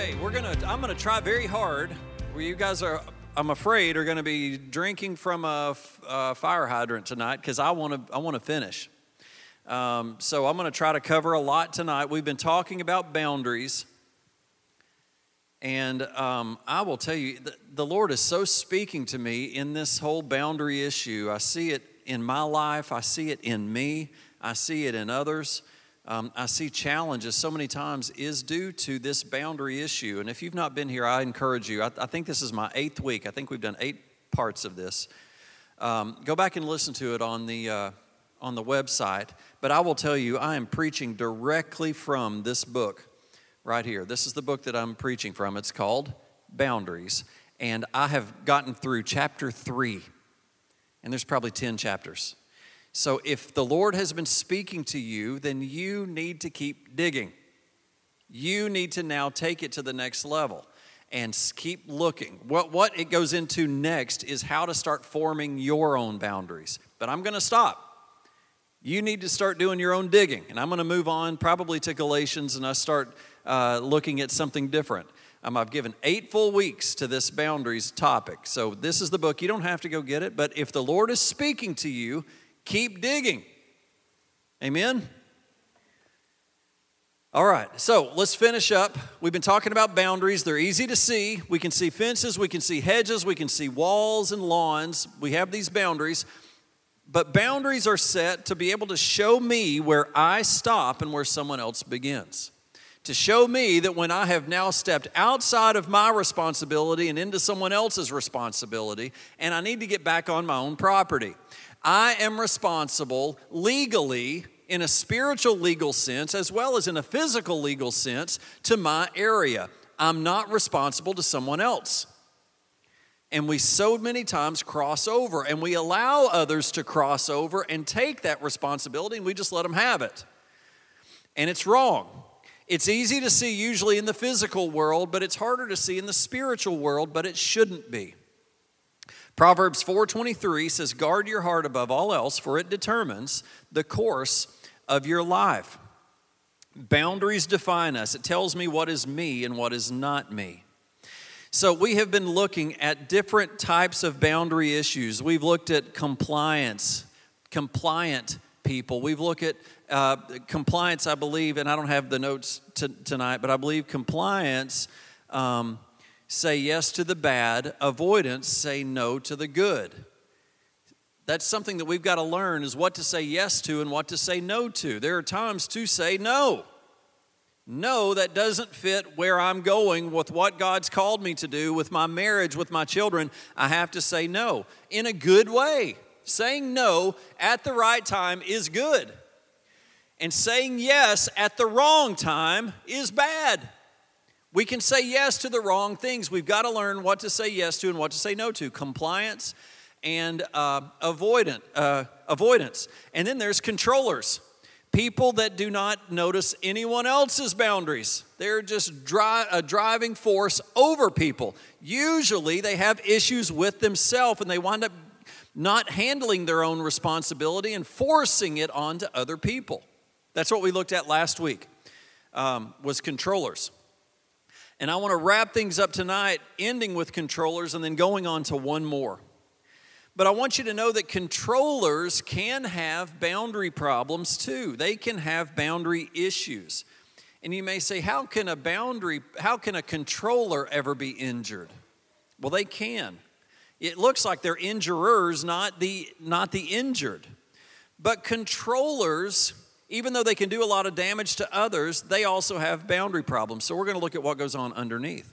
Okay, I'm gonna try very hard. Where you guys are, I'm afraid, are gonna be drinking from a fire hydrant tonight because I want to finish. So I'm gonna try to cover a lot tonight. We've been talking about boundaries, and I will tell you, the Lord is so speaking to me in this whole boundary issue. I see it in my life. I see it in me. I see it in others. I see challenges so many times is due to this boundary issue. And if you've not been here, I encourage you. I think this is my 8th week. I think we've done 8 parts of this. Go back and listen to it on the website. But I will tell you, I am preaching directly from this book right here. This is the book that I'm preaching from. It's called Boundaries. And I have gotten through chapter 3. And there's probably 10 chapters. So if the Lord has been speaking to you, then you need to keep digging. You need to now take it to the next level and keep looking. What it goes into next is how to start forming your own boundaries. But I'm going to stop. You need to start doing your own digging. And I'm going to move on probably to Galatians and I start looking at something different. I've given 8 full weeks to this boundaries topic. So this is the book. You don't have to go get it. But if the Lord is speaking to you, keep digging. Amen? All right, so let's finish up. We've been talking about boundaries. They're easy to see. We can see fences, we can see hedges, we can see walls and lawns. We have these boundaries. But boundaries are set to be able to show me where I stop and where someone else begins. To show me that when I have now stepped outside of my responsibility and into someone else's responsibility, and I need to get back on my own property. I am responsible legally, in a spiritual legal sense, as well as in a physical legal sense, to my area. I'm not responsible to someone else. And we so many times cross over, and we allow others to cross over and take that responsibility, and we just let them have it. And it's wrong. It's easy to see usually in the physical world, but it's harder to see in the spiritual world, but it shouldn't be. Proverbs 4:23 says, guard your heart above all else, for it determines the course of your life. Boundaries define us. It tells me what is me and what is not me. So we have been looking at different types of boundary issues. We've looked at compliant people. We've looked at compliance, I believe, and I don't have the notes tonight, but I believe compliance say yes to the bad, avoidance, say no to the good. That's something that we've got to learn is what to say yes to and what to say no to. There are times to say no. No, that doesn't fit where I'm going with what God's called me to do, with my marriage, with my children. I have to say no in a good way. Saying no at the right time is good. And saying yes at the wrong time is bad. We can say yes to the wrong things. We've got to learn what to say yes to and what to say no to. Compliance and avoidance. And then there's controllers. People that do not notice anyone else's boundaries. They're just a driving force over people. Usually they have issues with themselves and they wind up not handling their own responsibility and forcing it onto other people. That's what we looked at last week, was controllers. And I want to wrap things up tonight, ending with controllers and then going on to one more. But I want you to know that controllers can have boundary problems too. They can have boundary issues. And you may say, how can a controller ever be injured? Well, they can. It looks like they're injurers, not the injured. But controllers, even though they can do a lot of damage to others, they also have boundary problems. So we're going to look at what goes on underneath.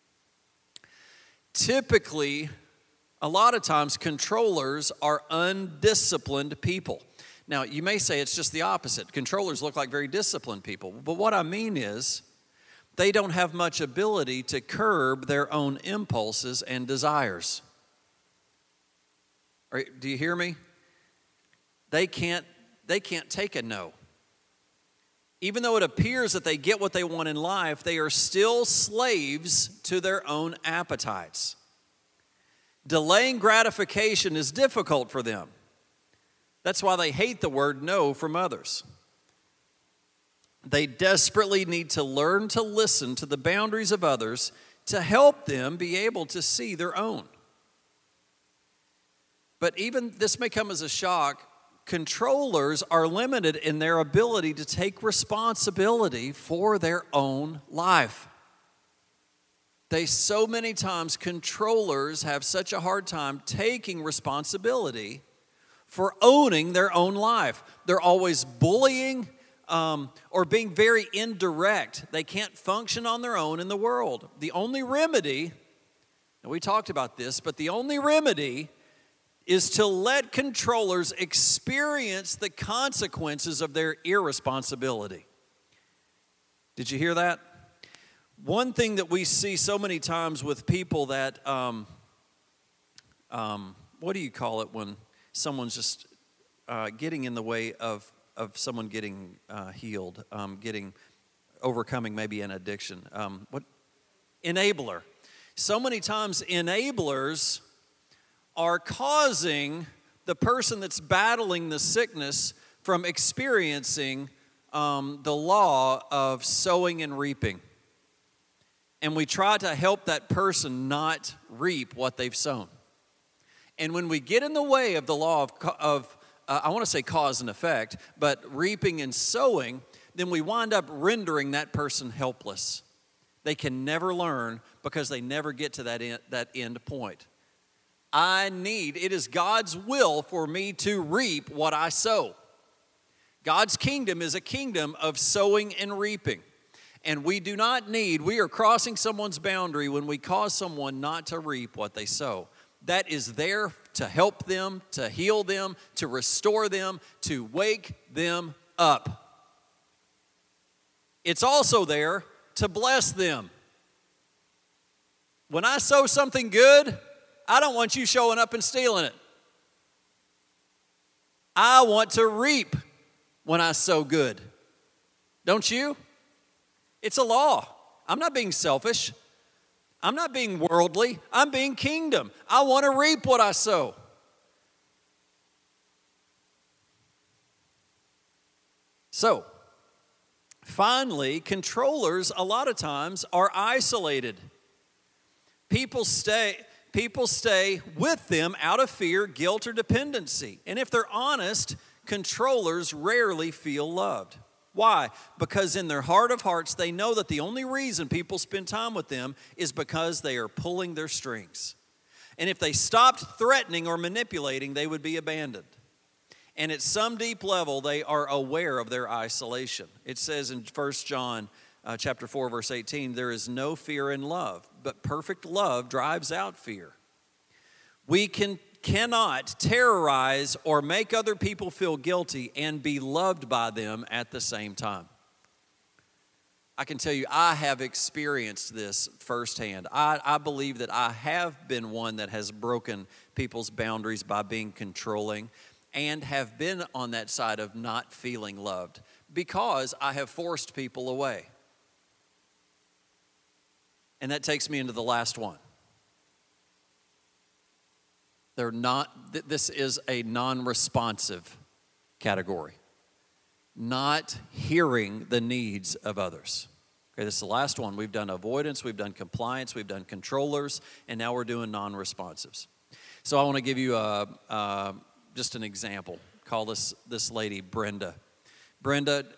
Typically, a lot of times, controllers are undisciplined people. Now, you may say it's just the opposite. Controllers look like very disciplined people. But what I mean is, they don't have much ability to curb their own impulses and desires. Do you hear me? They can't take a no. Even though it appears that they get what they want in life, they are still slaves to their own appetites. Delaying gratification is difficult for them. That's why they hate the word no from others. They desperately need to learn to listen to the boundaries of others to help them be able to see their own. But even this may come as a shock, controllers are limited in their ability to take responsibility for their own life. So many times, controllers have such a hard time taking responsibility for owning their own life. They're always bullying or being very indirect. They can't function on their own in the world. The only remedy, and we talked about this, but the only remedy is to let controllers experience the consequences of their irresponsibility. Did you hear that? One thing that we see so many times with people that, what do you call it when someone's just getting in the way of someone getting healed, overcoming maybe an addiction? Enabler. So many times enablers are causing the person that's battling the sickness from experiencing the law of sowing and reaping. And we try to help that person not reap what they've sown. And when we get in the way of the law of I want to say cause and effect, but reaping and sowing, then we wind up rendering that person helpless. They can never learn because they never get to that end point. It is God's will for me to reap what I sow. God's kingdom is a kingdom of sowing and reaping. And we are crossing someone's boundary when we cause someone not to reap what they sow. That is there to help them, to heal them, to restore them, to wake them up. It's also there to bless them. When I sow something good, I don't want you showing up and stealing it. I want to reap when I sow good. Don't you? It's a law. I'm not being selfish. I'm not being worldly. I'm being kingdom. I want to reap what I sow. So, finally, controllers a lot of times are isolated. People stay with them out of fear, guilt, or dependency. And if they're honest, controllers rarely feel loved. Why? Because in their heart of hearts, they know that the only reason people spend time with them is because they are pulling their strings. And if they stopped threatening or manipulating, they would be abandoned. And at some deep level, they are aware of their isolation. It says in 1 John chapter 4, verse 18, there is no fear in love, but perfect love drives out fear. We cannot terrorize or make other people feel guilty and be loved by them at the same time. I can tell you, I have experienced this firsthand. I believe that I have been one that has broken people's boundaries by being controlling and have been on that side of not feeling loved because I have forced people away. And that takes me into the last one. This is a non-responsive category. Not hearing the needs of others. Okay, this is the last one. We've done avoidance, we've done compliance, we've done controllers, and now we're doing non-responsives. So I want to give you just an example. Call this lady Brenda. Brenda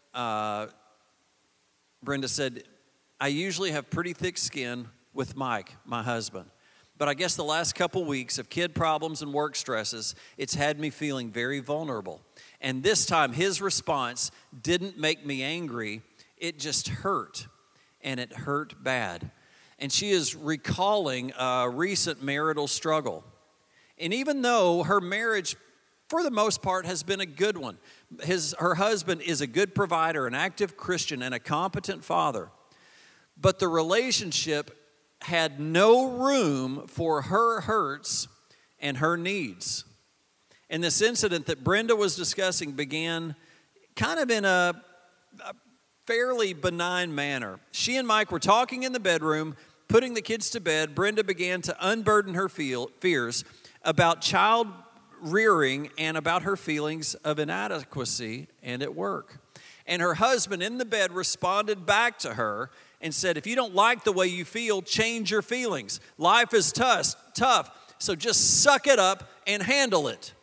said, I usually have pretty thick skin with Mike, my husband. But I guess the last couple weeks of kid problems and work stresses, it's had me feeling very vulnerable. And this time, his response didn't make me angry. It just hurt, and it hurt bad. And she is recalling a recent marital struggle. And even though her marriage, for the most part, has been a good one, her husband is a good provider, an active Christian, and a competent father, but the relationship had no room for her hurts and her needs. And this incident that Brenda was discussing began kind of in a fairly benign manner. She and Mike were talking in the bedroom, putting the kids to bed. Brenda began to unburden her fears about child rearing and about her feelings of inadequacy and at work. And her husband in the bed responded back to her and said, if you don't like the way you feel, change your feelings. Life is tough, so just suck it up and handle it.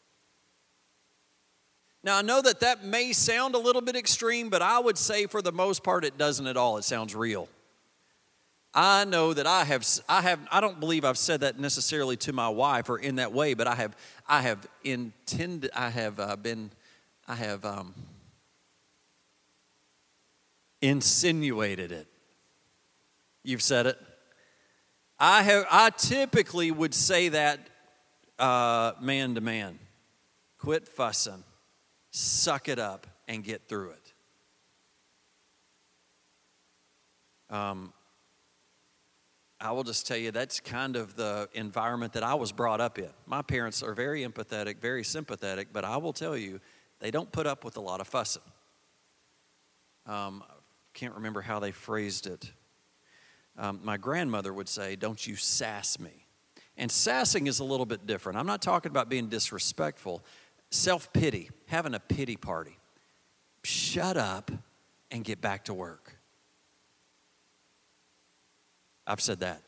Now, I know that may sound a little bit extreme, but I would say for the most part it doesn't at all. It sounds real. I know that I don't believe I've said that necessarily to my wife or in that way, but I have insinuated it. You've said it. I typically would say that man to man. Quit fussing. Suck it up and get through it. I will just tell you that's kind of the environment that I was brought up in. My parents are very empathetic, very sympathetic, but I will tell you, they don't put up with a lot of fussing. Can't remember how they phrased it. My grandmother would say, don't you sass me. And sassing is a little bit different. I'm not talking about being disrespectful. Self-pity, having a pity party. Shut up and get back to work. I've said that.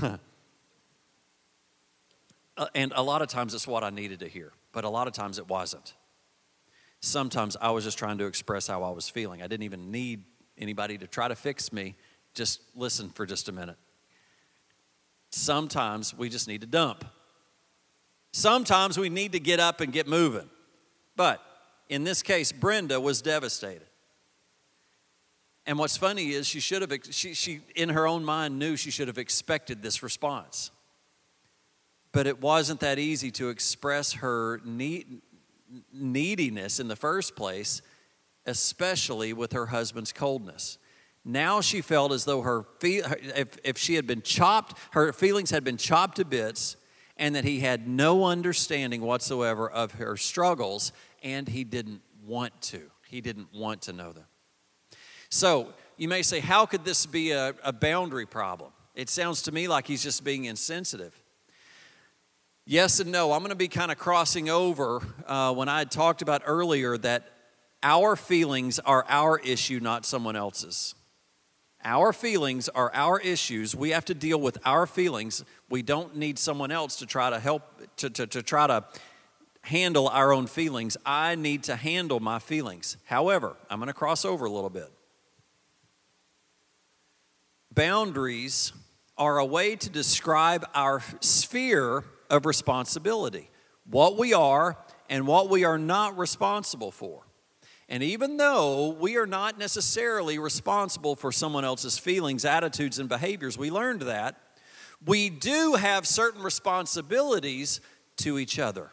And a lot of times it's what I needed to hear, but a lot of times it wasn't. Sometimes I was just trying to express how I was feeling. I didn't even need anybody to try to fix me. Just listen for just a minute. Sometimes we just need to dump. Sometimes we need to get up and get moving. But in this case, Brenda was devastated. And what's funny is she in her own mind knew she should have expected this response. But it wasn't that easy to express her neediness in the first place, especially with her husband's coldness. Now she felt as though if she had been chopped, her feelings had been chopped to bits, and that he had no understanding whatsoever of her struggles, and he didn't want to. He didn't want to know them. So you may say, how could this be a boundary problem? It sounds to me like he's just being insensitive. Yes and no. I'm going to be kind of crossing over when I had talked about earlier that our feelings are our issue, not someone else's. Our feelings are our issues. We have to deal with our feelings. We don't need someone else to try to help, to try to handle our own feelings. I need to handle my feelings. However, I'm going to cross over a little bit. Boundaries are a way to describe our sphere of responsibility, what we are and what we are not responsible for. And even though we are not necessarily responsible for someone else's feelings, attitudes, and behaviors, we learned that, we do have certain responsibilities to each other.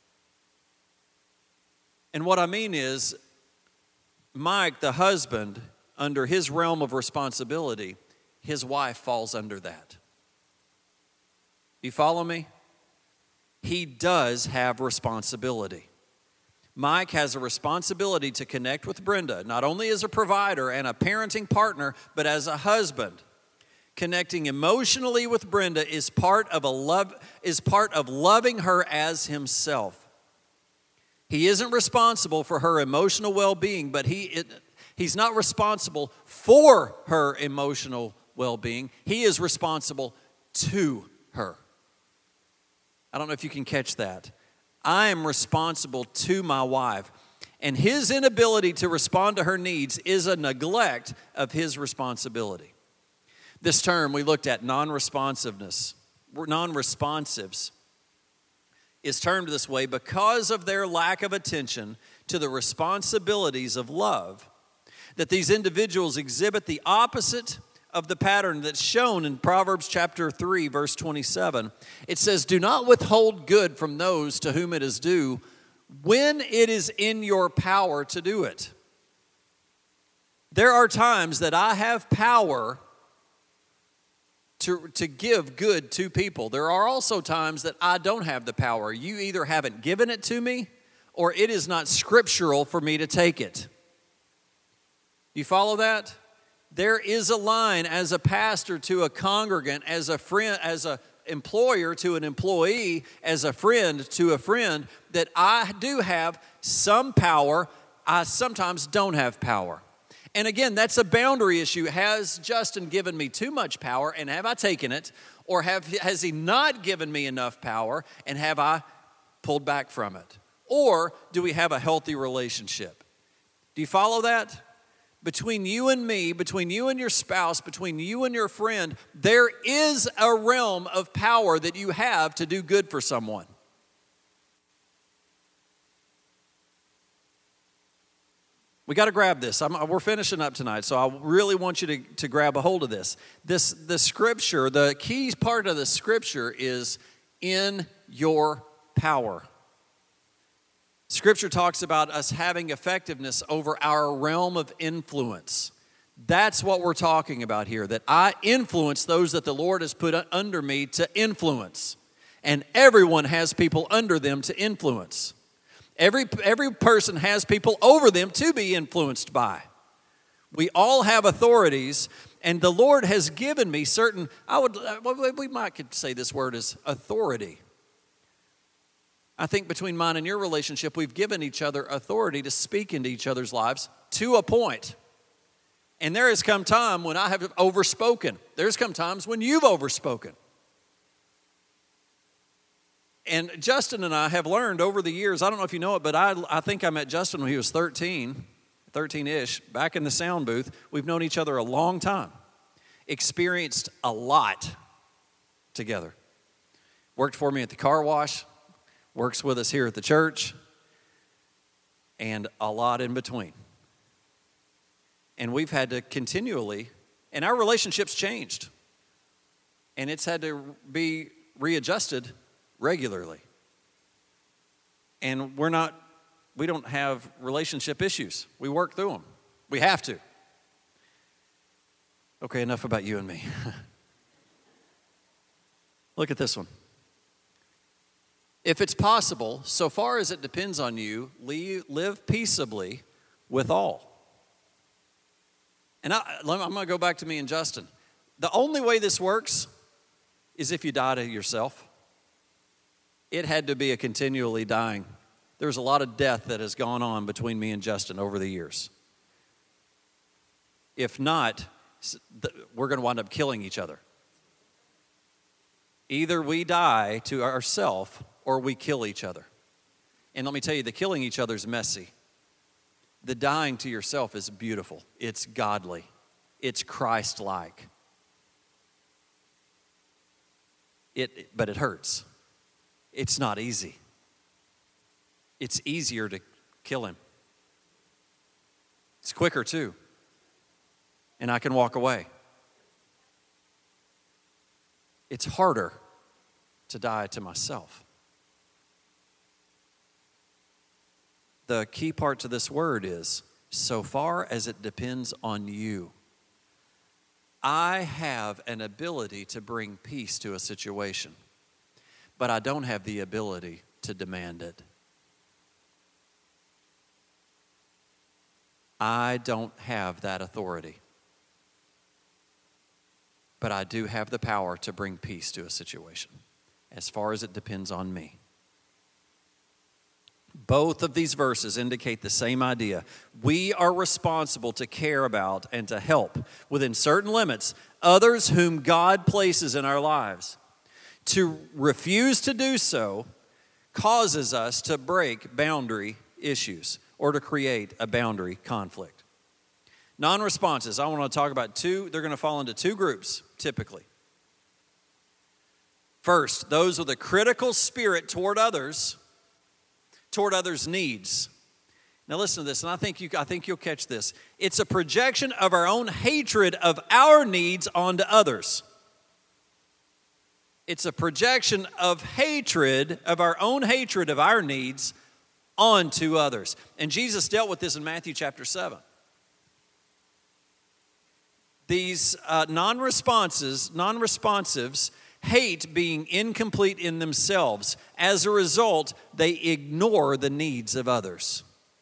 And what I mean is, Mike, the husband, under his realm of responsibility, his wife falls under that. You follow me? He does have responsibility. Mike has a responsibility to connect with Brenda, not only as a provider and a parenting partner, but as a husband. Connecting emotionally with Brenda is part of loving her as himself. He isn't responsible for her emotional well-being, but he's not responsible for her emotional well-being. He is responsible to her. I don't know if you can catch that. I am responsible to my wife, and his inability to respond to her needs is a neglect of his responsibility. This term we looked at, non-responsives, is termed this way because of their lack of attention to the responsibilities of love, that these individuals exhibit the opposite of the pattern that's shown in Proverbs chapter 3, verse 27. It says, do not withhold good from those to whom it is due when it is in your power to do it. There are times that I have power to give good to people. There are also times that I don't have the power. You either haven't given it to me or it is not scriptural for me to take it. You follow that? There is a line as a pastor to a congregant, as a friend, as an employer to an employee, as a friend to a friend, that I do have some power I sometimes don't have power. And again, that's a boundary issue. Has Justin given me too much power, and have I taken it? Or has he not given me enough power, and have I pulled back from it? Or do we have a healthy relationship? Do you follow that? Between you and me, between you and your spouse, between you and your friend, there is a realm of power that you have to do good for someone. We got to grab this. We're finishing up tonight, so I really want you to grab a hold of this. The scripture, the key part of the scripture is in your power. Scripture talks about us having effectiveness over our realm of influence. That's what we're talking about here, that I influence those that the Lord has put under me to influence. And everyone has people under them to influence. Every person has people over them to be influenced by. We all have authorities, and the Lord has given me certain, we might could say this word is authority. I think between mine and your relationship, we've given each other authority to speak into each other's lives to a point. And there has come time when I have overspoken. There's come times when you've overspoken. And Justin and I have learned over the years, I don't know if you know it, but I think I met Justin when he was 13-ish, back in the sound booth. We've known each other a long time, experienced a lot together. Worked for me at the car wash, works with us here at the church, and a lot in between. And we've had to continually, and our relationship's changed. And it's had to be readjusted regularly. And we don't have relationship issues. We work through them. We have to. Okay, enough about you and me. Look at this one. If it's possible, so far as it depends on you, live peaceably with all. And I'm going to go back to me and Justin. The only way this works is if you die to yourself. It had to be a continually dying. There's a lot of death that has gone on between me and Justin over the years. If not, we're going to wind up killing each other. Either we die to ourselves or we kill each other. And let me tell you, the killing each other is messy. The dying to yourself is beautiful. It's godly. It's Christ-like. But it hurts. It's not easy. It's easier to kill him. It's quicker too. And I can walk away. It's harder to die to myself. The key part to this word is, so far as it depends on you, I have an ability to bring peace to a situation, but I don't have the ability to demand it. I don't have that authority, but I do have the power to bring peace to a situation, as far as it depends on me. Both of these verses indicate the same idea. We are responsible to care about and to help, within certain limits, others whom God places in our lives. To refuse to do so causes us to break boundary issues or to create a boundary conflict. Non-responses, I want to talk about two. They're going to fall into two groups, typically. First, those with a critical spirit toward others' needs. Now listen to this, and I think you'll catch this. It's a projection of our own hatred of our needs onto others. It's a projection of hatred, of our own hatred of our needs onto others. And Jesus dealt with this in Matthew chapter 7. These non-responsives hate being incomplete in themselves. As a result, they ignore the needs of others.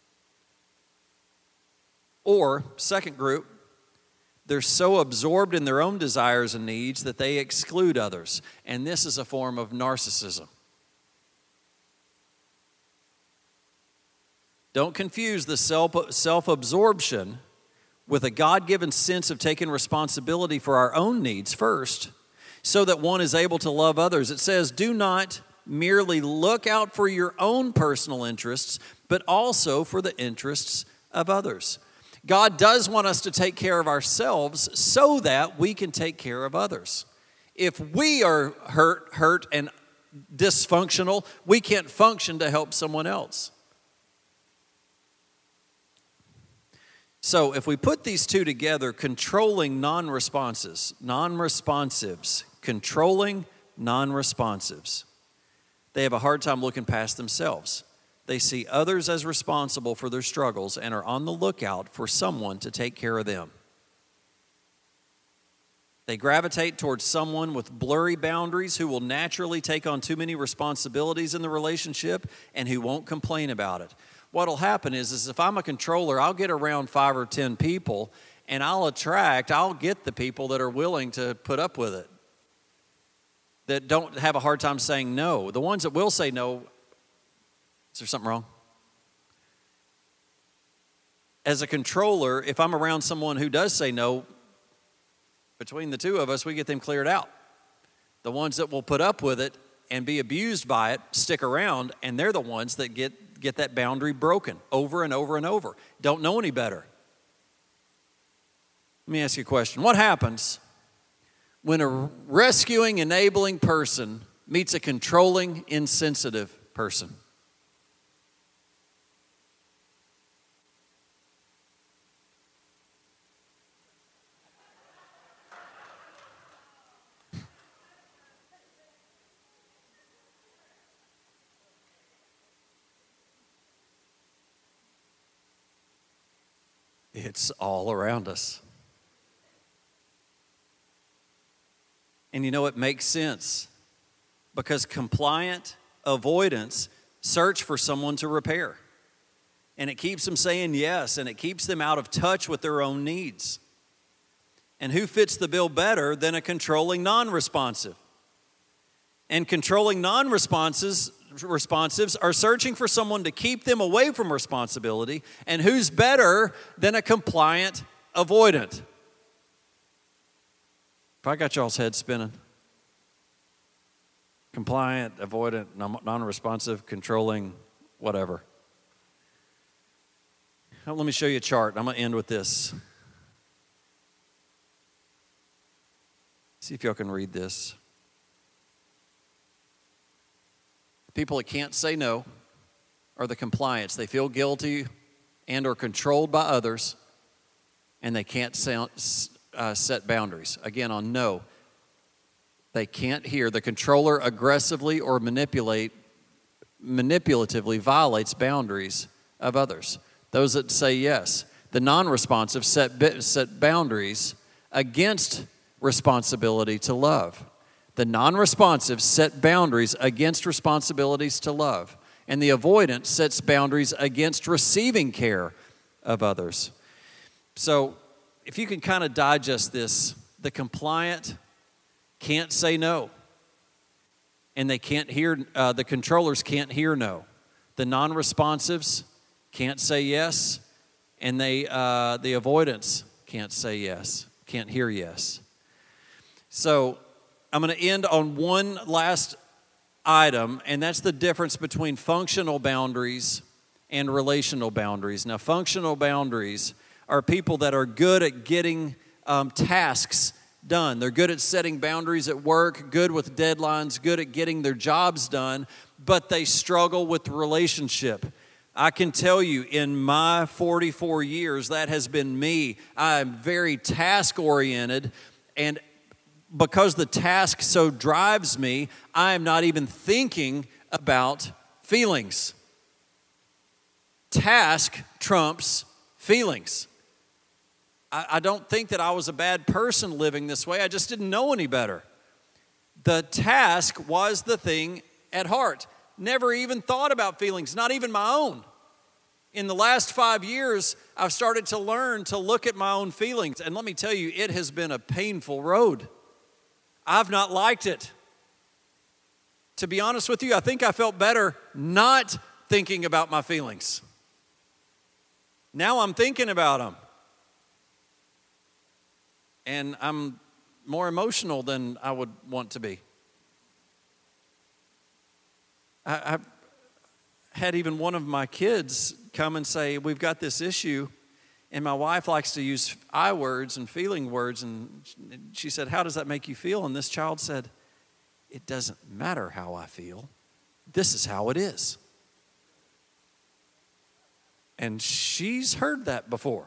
Or, second group, they're so absorbed in their own desires and needs that they exclude others. And this is a form of narcissism. Don't confuse the self-absorption with a God-given sense of taking responsibility for our own needs first, so that one is able to love others. It says, do not merely look out for your own personal interests, but also for the interests of others. God does want us to take care of ourselves so that we can take care of others. If we are hurt and dysfunctional, we can't function to help someone else. So if we put these two together, controlling non-responsives, controlling non-responsives, they have a hard time looking past themselves. They see others as responsible for their struggles and are on the lookout for someone to take care of them. They gravitate towards someone with blurry boundaries who will naturally take on too many responsibilities in the relationship and who won't complain about it. What'll happen is if I'm a controller, I'll get around 5 or 10 people and I'll get the people that are willing to put up with it, that don't have a hard time saying no. The ones that will say no, is there something wrong? As a controller, if I'm around someone who does say no, between the two of us, we get them cleared out. The ones that will put up with it and be abused by it stick around, and they're the ones that get that boundary broken over and over and over. Don't know any better. Let me ask you a question. What happens when a rescuing, enabling person meets a controlling, insensitive person? It's all around us. And you know, it makes sense because compliant avoidance search for someone to repair. And it keeps them saying yes, and it keeps them out of touch with their own needs. And who fits the bill better than a controlling non-responsive? And controlling non-responsives are searching for someone to keep them away from responsibility. And who's better than a compliant avoidant? If I got y'all's head spinning. Compliant, avoidant, non-responsive, controlling, whatever. Now, let me show you a chart. I'm going to end with this. See if y'all can read this. People that can't say no are the compliants. They feel guilty and are controlled by others, and they can't set boundaries. Again, on no, they can't hear. The controller aggressively or manipulatively violates boundaries of others. Those that say yes. The non-responsive set boundaries against responsibility to love. The non-responsive set boundaries against responsibilities to love. And the avoidant sets boundaries against receiving care of others. So if you can kind of digest this, the compliant can't say no. And they can't hear, the controllers can't hear no. The non-responsives can't say yes. And the avoidants can't say yes, can't hear yes. So I'm going to end on one last item, and that's the difference between functional boundaries and relational boundaries. Now, functional boundaries are people that are good at getting tasks done. They're good at setting boundaries at work, good with deadlines, good at getting their jobs done, but they struggle with relationship. I can tell you in my 44 years, that has been me. I'm very task-oriented, and because the task so drives me, I am not even thinking about feelings. Task trumps feelings. I don't think that I was a bad person living this way. I just didn't know any better. The task was the thing at heart. Never even thought about feelings, not even my own. In the last 5 years, I've started to learn to look at my own feelings. And let me tell you, it has been a painful road. I've not liked it. To be honest with you, I think I felt better not thinking about my feelings. Now I'm thinking about them. And I'm more emotional than I would want to be. I've had even one of my kids come and say, we've got this issue, and my wife likes to use I words and feeling words, and she said, how does that make you feel? And this child said, it doesn't matter how I feel. This is how it is. And she's heard that before.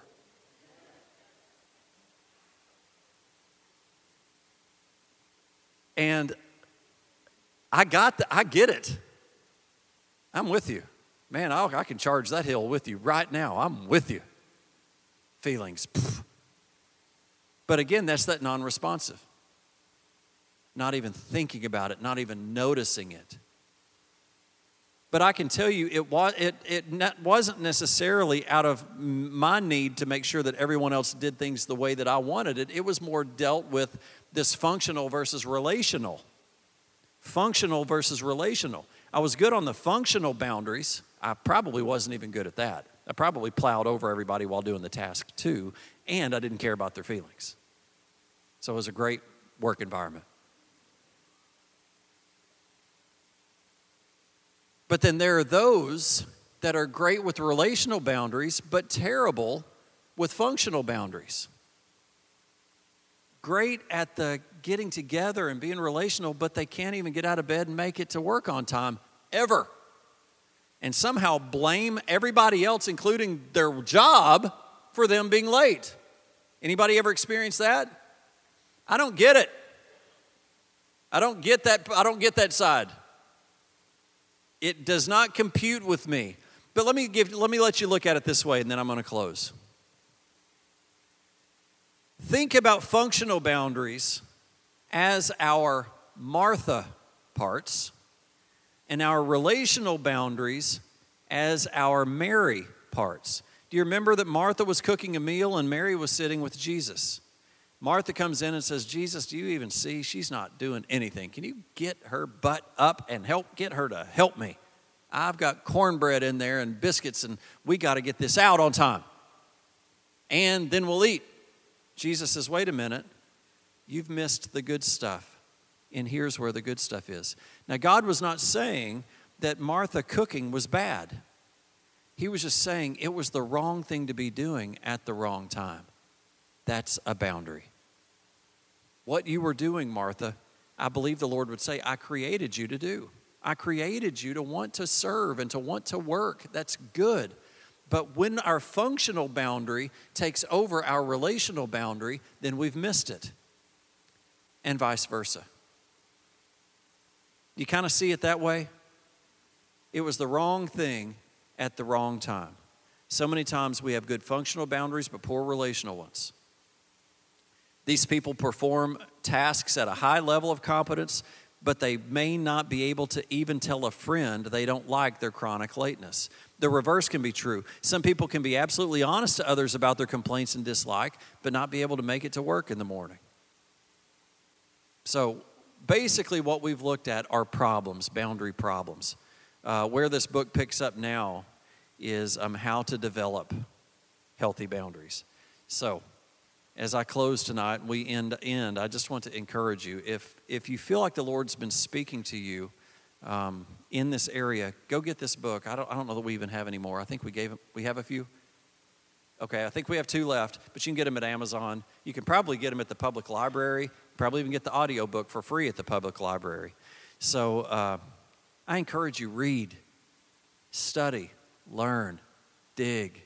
And I get it. I'm with you. Man, I can charge that hill with you right now. I'm with you. Feelings. Pfft. But again, that's that non-responsive. Not even thinking about it, not even noticing it. But I can tell you, it wasn't necessarily out of my need to make sure that everyone else did things the way that I wanted it. It was more dealt with this functional versus relational. Functional versus relational. I was good on the functional boundaries. I probably wasn't even good at that. I probably plowed over everybody while doing the task too, and I didn't care about their feelings. So it was a great work environment. But then there are those that are great with relational boundaries, but terrible with functional boundaries. Great at the getting together and being relational, but they can't even get out of bed and make it to work on time, ever. And somehow blame everybody else, including their job, for them being late. Anybody ever experienced that? I don't get it. I don't get that side. It does not compute with me. But let me let you look at it this way, and then I'm going to close. Think about functional boundaries as our Martha parts, and our relational boundaries as our Mary parts. Do you remember that Martha was cooking a meal and Mary was sitting with Jesus? Martha comes in and says, Jesus, do you even see she's not doing anything? Can you get her butt up and get her to help me? I've got cornbread in there and biscuits, and we got to get this out on time. And then we'll eat. Jesus says, wait a minute. You've missed the good stuff. And here's where the good stuff is. Now, God was not saying that Martha cooking was bad. He was just saying it was the wrong thing to be doing at the wrong time. That's a boundary. What you were doing, Martha, I believe the Lord would say, I created you to do. I created you to want to serve and to want to work. That's good. But when our functional boundary takes over our relational boundary, then we've missed it. And vice versa. You kind of see it that way? It was the wrong thing at the wrong time. So many times we have good functional boundaries, but poor relational ones. These people perform tasks at a high level of competence, but they may not be able to even tell a friend they don't like their chronic lateness. The reverse can be true. Some people can be absolutely honest to others about their complaints and dislike, but not be able to make it to work in the morning. So basically what we've looked at are problems, boundary problems. Where this book picks up now is how to develop healthy boundaries. So as I close tonight, we end, I just want to encourage you. If you feel like the Lord's been speaking to you in this area, go get this book. I don't know that we even have any more. I think we have a few. Okay, I think we have 2 left, but you can get them at Amazon. You can probably get them at the public library. Probably even get the audio book for free at the public library. So I encourage you, read, study, learn, dig,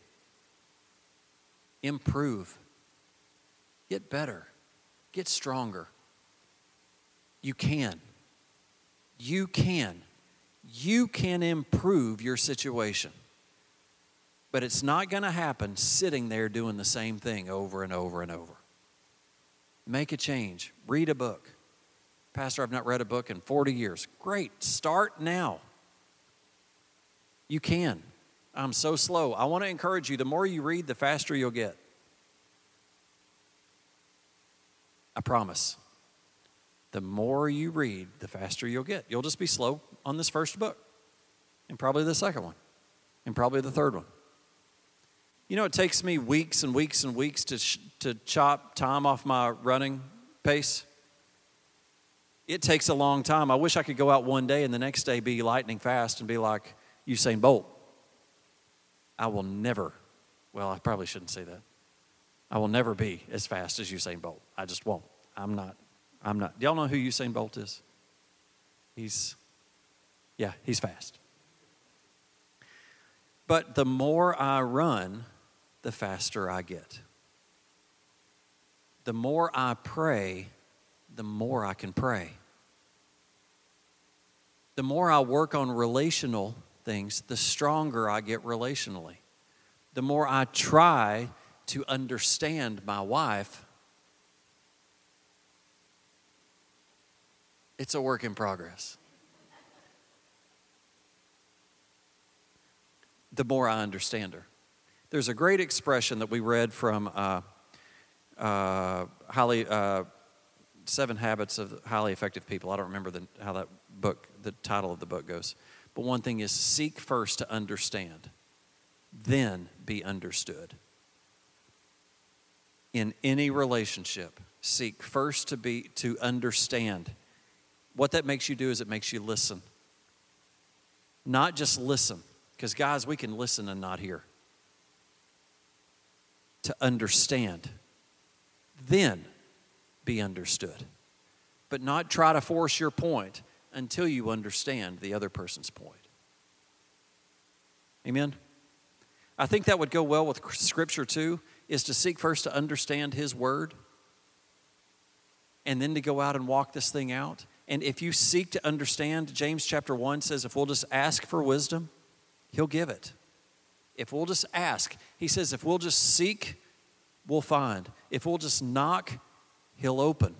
improve, get better, get stronger. You can. You can. You can improve your situation. But it's not going to happen sitting there doing the same thing over and over and over. Make a change. Read a book. Pastor, I've not read a book in 40 years. Great. Start now. You can. I'm so slow. I want to encourage you, the more you read, the faster you'll get. I promise. The more you read, the faster you'll get. You'll just be slow on this first book, and probably the second one, and probably the third one. You know, it takes me weeks and weeks and weeks to chop time off my running pace. It takes a long time. I wish I could go out one day and the next day be lightning fast and be like Usain Bolt. I will never, well, I probably shouldn't say that. I will never be as fast as Usain Bolt. I just won't. I'm not. Do y'all know who Usain Bolt is? He's fast. But the more I run, the faster I get. The more I pray, the more I can pray. The more I work on relational things, the stronger I get relationally. The more I try to understand my wife, it's a work in progress. The more I understand her. There's a great expression that we read from 7 Habits of Highly Effective People. I don't remember how that book, the title of the book goes. But one thing is, seek first to understand, then be understood. In any relationship, seek first to understand. What that makes you do is it makes you listen. Not just listen, because guys, we can listen and not hear. To understand, then be understood. But not try to force your point until you understand the other person's point. Amen? I think that would go well with Scripture too, is to seek first to understand His Word and then to go out and walk this thing out. And if you seek to understand, James chapter 1 says if we'll just ask for wisdom, He'll give it. If we'll just ask, He says if we'll just seek, we'll find. If we'll just knock, He'll open.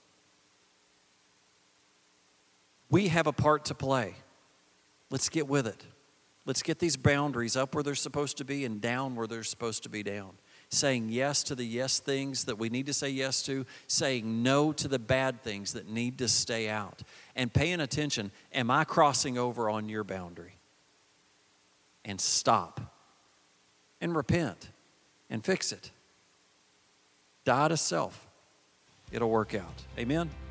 We have a part to play. Let's get with it. Let's get these boundaries up where they're supposed to be and down where they're supposed to be down. Saying yes to the yes things that we need to say yes to. Saying no to the bad things that need to stay out. And paying attention, am I crossing over on your boundary? And stop. And repent. And fix it. Die to self. It'll work out. Amen?